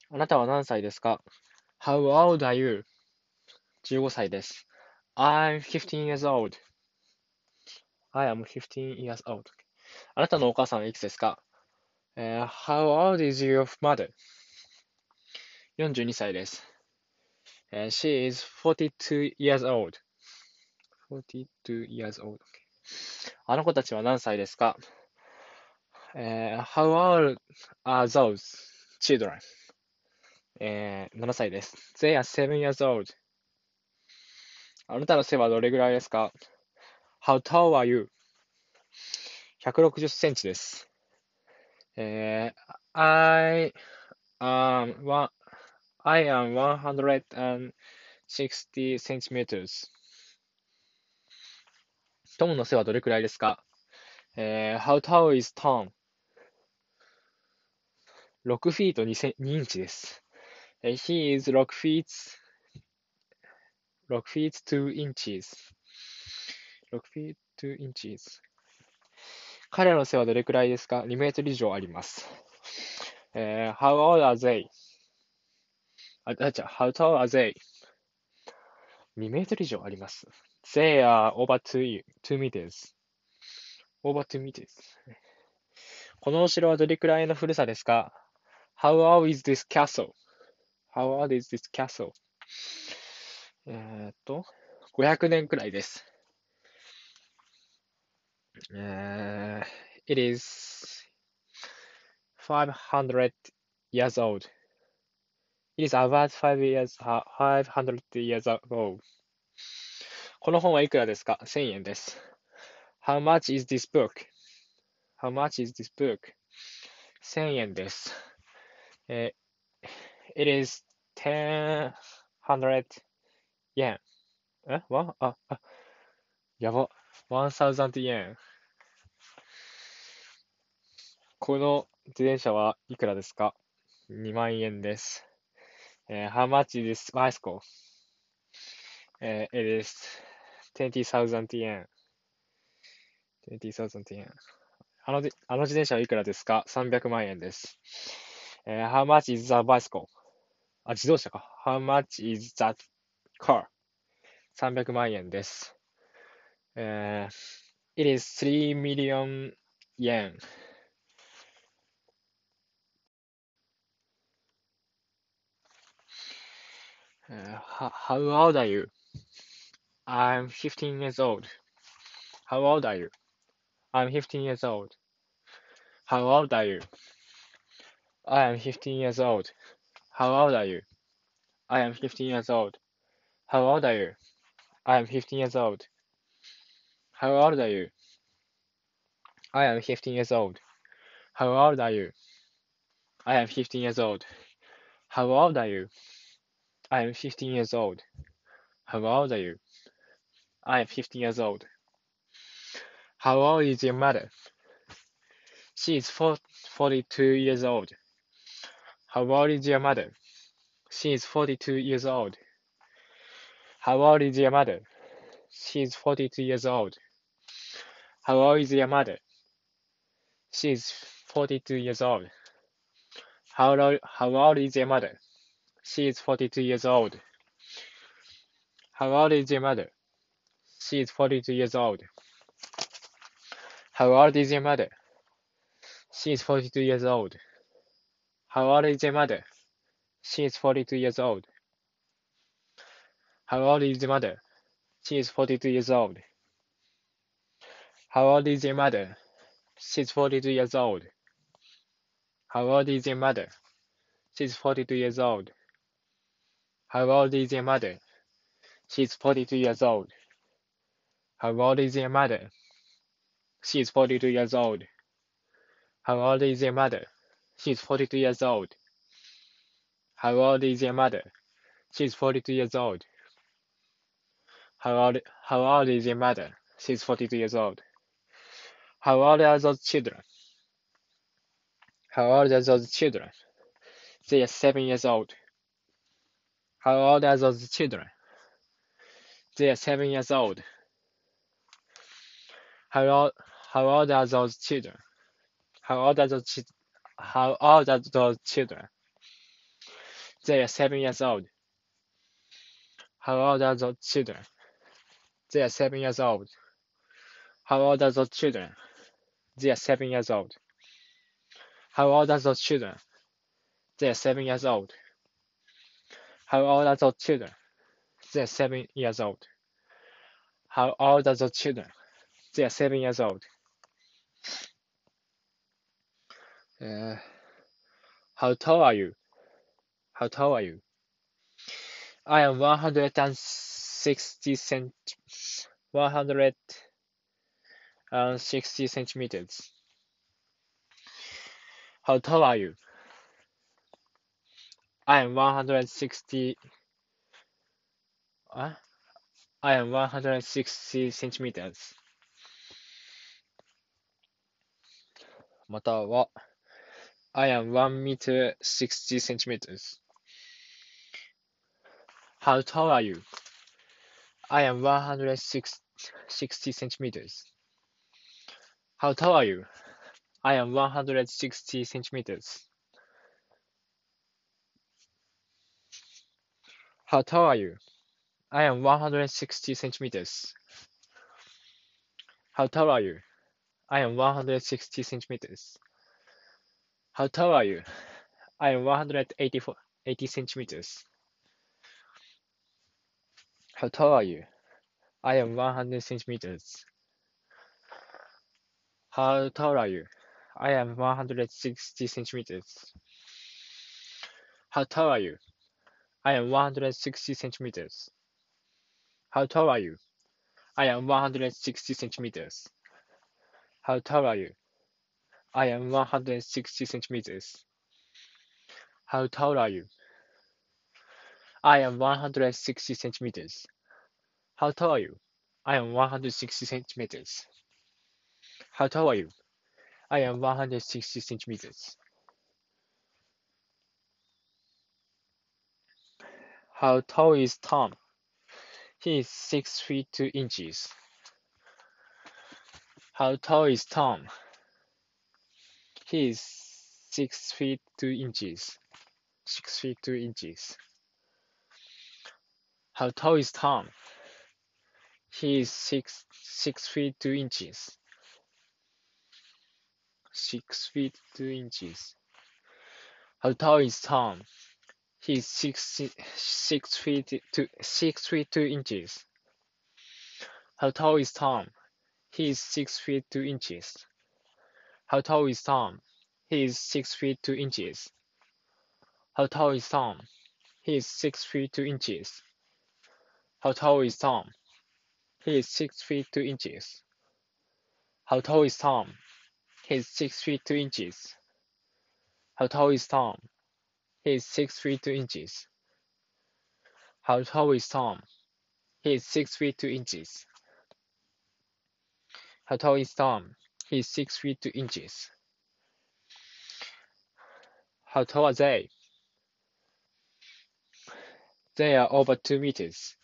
あなたは何歳ですか？ How old are you? 15歳です。I'm 15 years old. I am 15 years old. あなたのお母さんはいくつですか？How old is your mother? 42歳です。She is 42 years old. 42 years old. あの子たちは何歳ですか？How old are those children? 7歳です。They are 7 years old. あなたの背はどれぐらいですか？ How tall are you? 160センチです。I am I am 160 centimeters. トムの背はどれくらいですか？How tall is Tom? 6フィート2インチです。He is 6 feet 2 inches. 6 feet 2 inches. 彼らの背はどれくらいですか？ 2 メートル以上あります。How old are they? How tall are they? 2メートル以上あります。They are over 2 meters. Over 2 meters. このお城はどれくらいの古さですか？ How old is this castle? How old is this castle? 500年くらいです。It is 500 years old. It is about 500 years old. この本はいくらですか？ 1000 円です。How much is this book? How much is this book? 1000円です。It is 1000 yen. やば。1000 yen. この自転車はいくらですか？ 2 万円です。How much is this bicycle? It is 20,000 yen. 20,000 yen. あの自転車はいくらですか？ 300 万円です。How much is the bicycle? 自動車か。How much is that car? 300万円です。It is 3 million yen. How old are you? I'm 15 years old. How old are you? I'm 15 years old. How old are you? I am 15 years old. How old are you? I am 15 years old. How old are you? I am 15 years old. How old are you? I am 15 years old. How old are you? I am 15 years old. How old are you? I am 15 years old. How old are you? I am 15 years old. How old is your mother? She is 42 years old. How old is your mother? She is 42 years old. How old is your mother? She is 42 years old. How old is your mother? She is 42 years old. How old is your mother? She is 42 years old. How old is your mother? She is 42 years old. How old is your mother? She is 42 years old. How old is your mother? She is 42 years old. How old is your mother? She is 42 years old. How old is your mother? She is 42 years old. How old is your mother? She is 42 years old. How old is your mother? She is 42 years old. How old is your mother? She is 42 years old. How old is your mother? She is 42 years old. How old is your mother? She is 42 years old. How old is your mother? She is 42 years old. How old are those children? How old are those children? They are 7 years old. How old are those children? They are 7 years old. How old, how old are those children? How old are those children? They are 7 years old. How old are those children? They are 7 years old. How old are those children? They are 7 years old. How old are those children? They are 7 years old. How old are those children? They are 7 years old. How old are those children? They are 7 years old. Uh, how tall are you? How tall are you? I am 160 centimeters. How tall are you? I am 160. I am 160 centimeters. または I am 1 meter 60 centimeters. How tall are you? I am 160 centimeters. How tall are you? I am 160 centimeters. How tall are you? I am 160 centimeters. How tall are you? I am 160 centimeters. How tall are you? I am 180 centimeters. How tall are you? I am 100 centimeters. How tall are you? I am 160 centimeters. How tall are you? I am 160 centimeters. How tall are you? I am 160 centimeters. How tall are you? I am 160 centimeters. How tall are you? I am 160 centimeters. How tall are you? I am 160 centimeters. How tall are you? I am 160 centimeters. How tall is Tom? He is 6 feet 2 inches. How tall is Tom? He is 6 feet 2 inches. 6 feet 2 inches. How tall is Tom? He is 6 feet 2 inches. 6 feet 2 inches. How tall is Tom? He is 6 feet 2 inches. How tall is Tom? He is 6 feet 2 inches. How tall is Tom? He is 6 feet 2 inches. How tall is Tom? He is 6 feet 2 inches. How tall is Tom? He is 6 feet 2 inches. How tall is Tom? He is 6 feet 2 inches. How tall is Tom? He is 6 feet 2 inches. How tall is Tom? He is 6 feet 2 inches. How tall is Tom? He is 6 feet 2 inches. How tall are they? They are over 2 meters.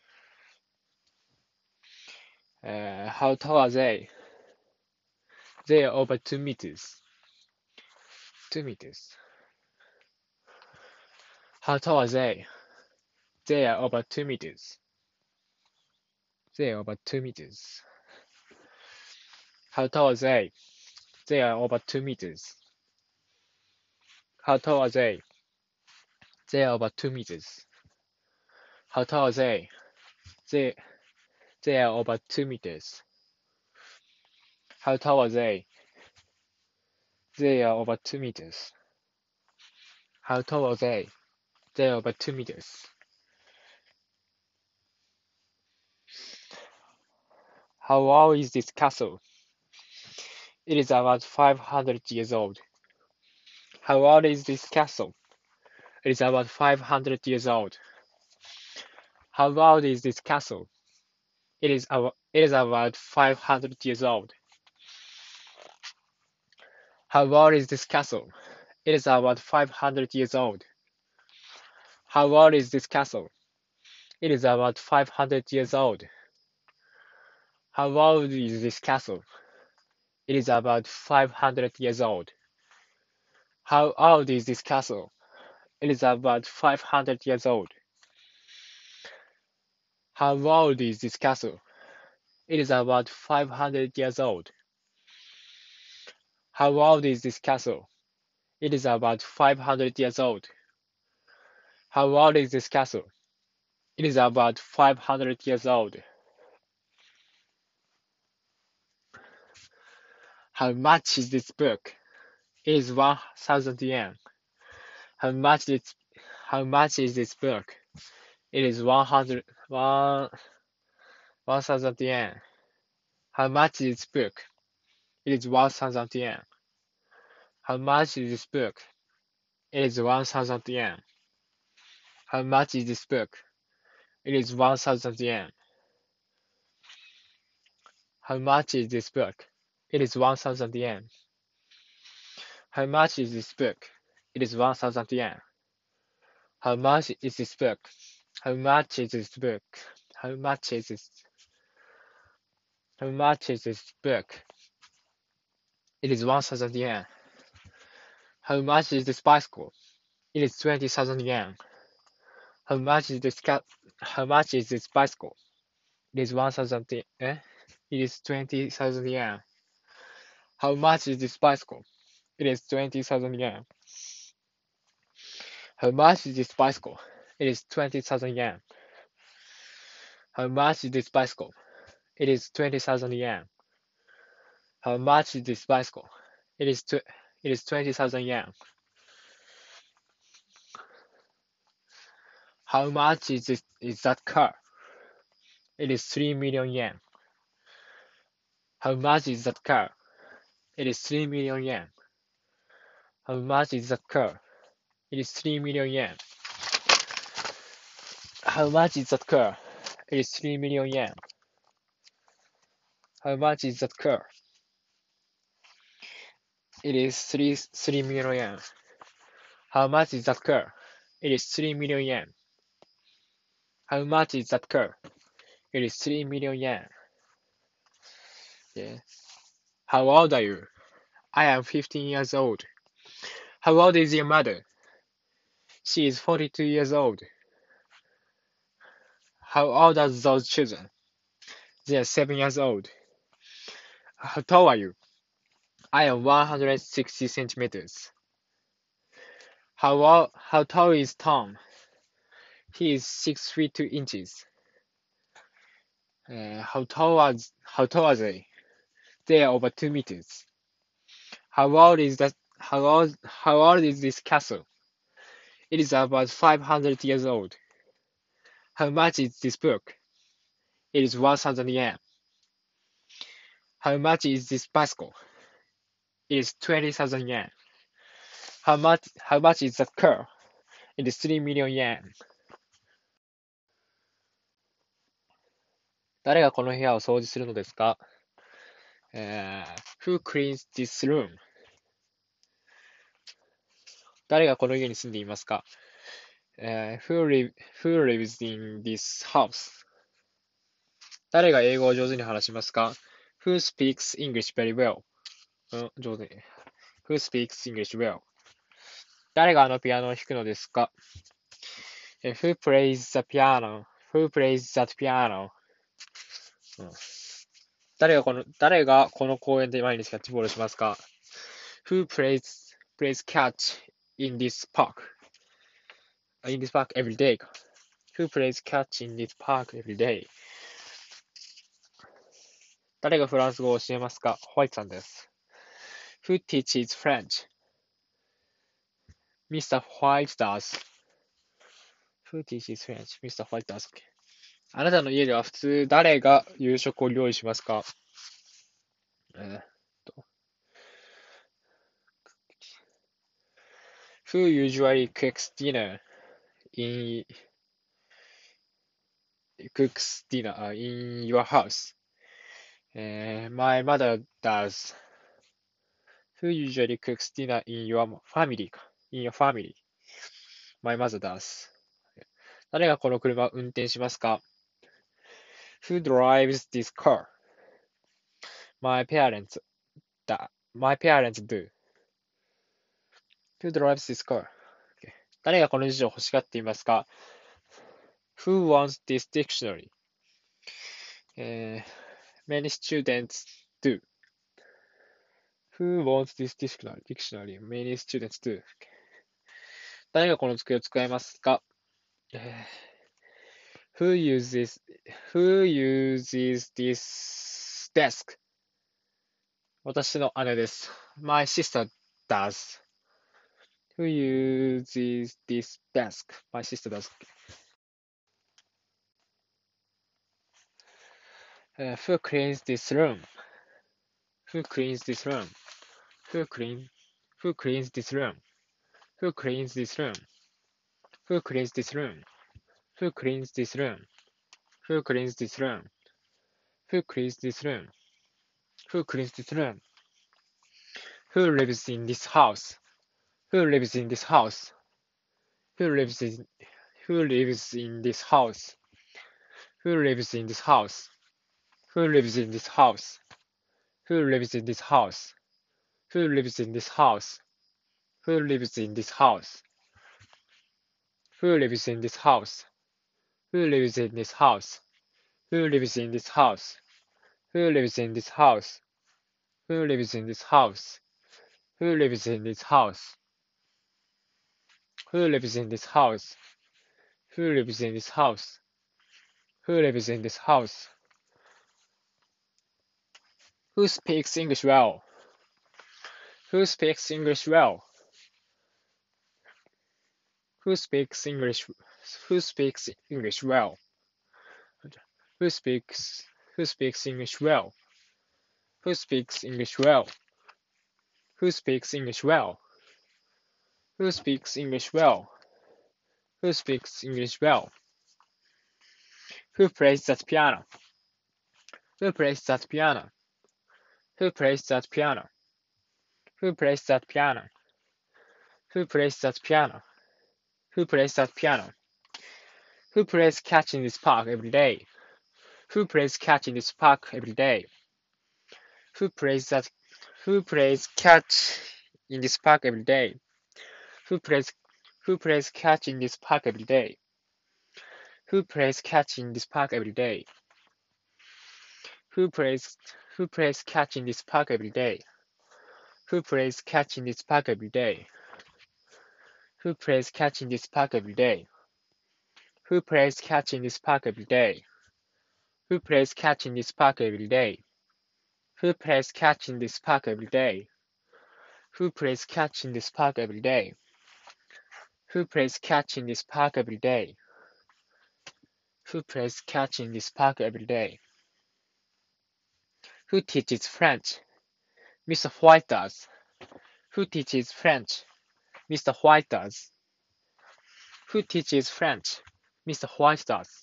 How tall are they? They are over 2 meters. 2 meters. How tall are they? They are over 2 meters. They are over 2 meters. How tall are they? They are over 2 meters. How tall are they? They are over 2 meters. How tall are they? They are over 2 meters. How tall are they? They are over 2 meters. How tall are they? They are over 2 meters. How old is this castle? It is about 500 years old. How old is this castle? It is about 500 years old. How old is this castle? It is about 500 years old. How old is this castle? It is about 500 years old. How old is this castle? It is about 500 years old. How old is this castle? It is about 500 years old. How old is this castle? It is about 500 years old. How old is this castle? It is about 500 years old. How old is this castle? It is about 500 years old. How old is this castle? It is about 500 years old. How much is this book? It is 1,000 yen. How much is how much is this book? It is 1,000 yen. How much is this book? It is 1,000 yen. How much is this book? It is 1,000 yen. How much is this book? It is 1,000 yen. How much is this book? It is 1,000 yen. How much is this book? It is 1,000 yen. How much is this book? How much is this book? How much is this? How much is this book? It is 1,000 yen. How much is this bicycle? It is 20,000 yen. How much is this How much is this bicycle? It is 1,000 yen. It is 20,000 yen. How much is this bicycle? It is 20,000 yen. How much is this bicycle? It is 20,000 yen. How much is this bicycle? It is 20,000 yen. How much is this bicycle? It is 20,000 yen. How much is that car? It is 3 million yen. How much is that car? It is 3 million yen. How much is that car? It is 3 million yen. How much is that car? It is 3 million yen. How much is that car? It is 3 million yen. How much is that car? It is 3 million yen. How much is that car? It is 3 million yen. Yeah. How old are you? I am 15 years old. How old is your mother? She is 42 years old. How old are those children? They are 7 years old. How tall are you? I am 160 centimeters. How tall is Tom? He is 6 feet 2 inches. How tall are they? They are over 2 meters. How old is that? How old is this castle? It is about 500 years old. How much is this book? It is 1,000 yen. How much is this bicycle? It is 20,000 yen. How much is that car? It is 3 million yen. 誰がこの部屋を掃除するのですか？ Who cleans this room? 誰がこの家に住んでいますか？ who lives in this house? 誰が英語を上手に話しますか？ Who speaks English very well? 上手に。Who speaks English well? 誰があのピアノを弾くのですか？ Who plays the piano? Who plays that piano? 誰がこの公園で毎日キャッチボールしますか？ Who plays catch in this park? In this park every day. Who plays catch in this park every day? 誰がフランス語を教えますか？ホワイトさんです。Who teaches French? Mr. White does. Who teaches French? Mr. White does. あなたの家では普通誰が夕食を料理しますか？Who usually cooks dinner in your house? My mother does. Who usually cooks dinner in your family? In your family. My mother does. 誰がこの車を運転しますか？ Who drives this car? My parents do. Who drives this car? 誰がこの辞書を欲しがっていますか？ Who wants this dictionary? Many students do. Who wants this dictionary? Many students do. 誰がこの机を使いますか？Who uses this desk? 私の姉です。My sister does. Who uses this desk? My sister does. Who cleans this room? Who cleans this room? Who cleans this room? Who cleans this room? Who cleans this room? Who cleans this room? Who cleans this room? Who cleans this room? Who cleans this room? Who lives in this house? Who lives in this house? Who lives in this house? Who lives in this house? Who lives in this house? Who lives in this house? Who lives in this house? Who lives in this house? Who lives in this house? Who lives in this house? Who lives in this house? Who lives in this house? Who lives in this house? Who lives in this house? Who lives in this house? Who lives in this house? Who lives in this house? Who speaks English well? Who speaks English well? Who speaks English? Who speaks English well? Who speaks English well? Who speaks English well? Who speaks English well? Who speaks English well? Who speaks English well? Who plays that piano? Who plays that piano? Who plays that piano? Who plays that piano? Who plays that piano? Who plays that piano? Who plays catch in this park every day? Who plays catch in this park every day? Who plays catch in this park every day? Who plays catch in this park every day? Who plays catch in this park every day? Who plays catch in this park every day? Who plays catch in this park every day? Who plays catch in this park every day? Who plays catch in this park every day? Who plays catch in this park every day? Who plays catch in this park every day? Who plays catch in this park every day? Who plays catch in this park every day? Who plays catch in this park every day? Who teaches French? Mr. White does. Who teaches French? Mr. White does. Who teaches French? Mr. White does.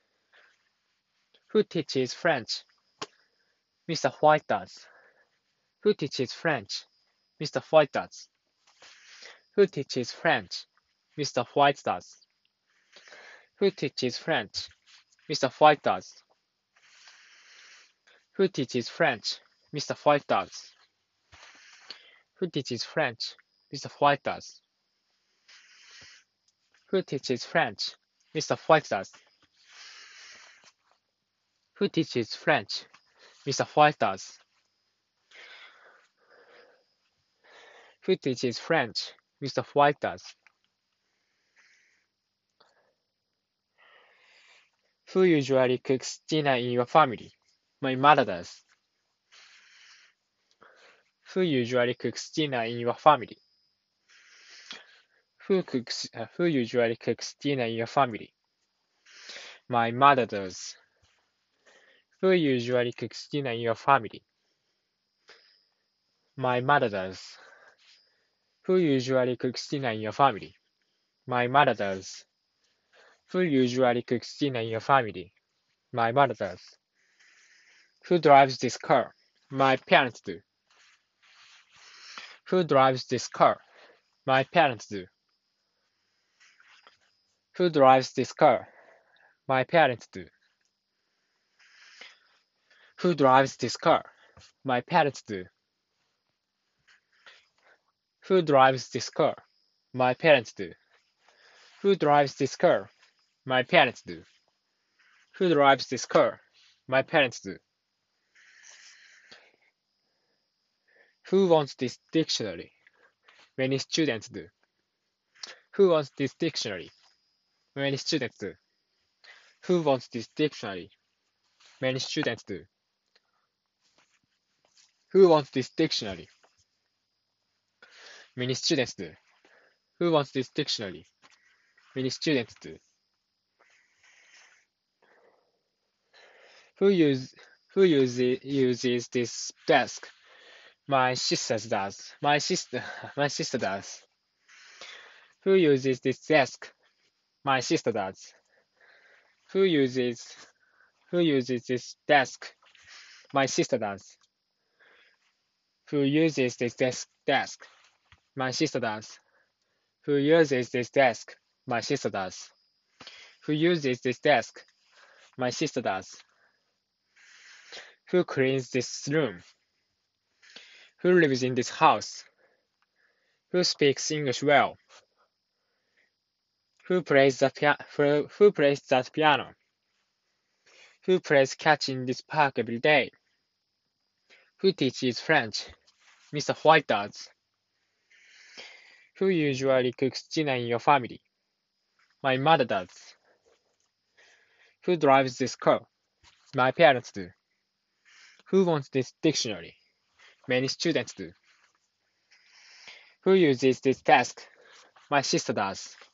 Who teaches French? Mr. White does. Who teaches French? Mr. White does. Who teaches French? Mr. White does. Who teaches French? Mr. White does. Who teaches French? Mr. White does. Who teaches French? Mr. White does. Who teaches French? Mr. White does. Who teaches French? Mr. White does. Who teaches French? Mr. White does. Who usually cooks dinner in your family? My mother does. Who usually cooks dinner in your family? Who usually cooks dinner in your family? My mother does. Who usually cooks dinner in your family? My mother does. Who usually cooks dinner in your family? My mother does. Who usually cooks dinner in your family? My mother does. Who drives this car? My parents do. Who drives this car? My parents do. Who drives this car? My parents do. Who drives this car? My parents do. Who drives this car? My parents do. Who drives this car? My parents do. Who drives this car? My parents do. Who wants this dictionary? Many students do. Who wants this dictionary? Many students do. Who wants this dictionary? Many students do. Who wants this dictionary? Many students do. Who wants this dictionary? Many students do. Who use who uses this desk? My sister does. My sister does. Who uses this desk? My sister does. Who uses who uses this desk? My sister does. Who uses this desk? My sister does. Who uses this desk? My sister does. Who uses this desk? My sister does. Who cleans this room? Who lives in this house? Who speaks English well? Who plays that piano? Who plays catch in this park every day? Who teaches French? Mr. White does. Who usually cooks dinner in your family? My mother does. Who drives this car? My parents do. Who wants this dictionary? Many students do. Who uses this desk? My sister does.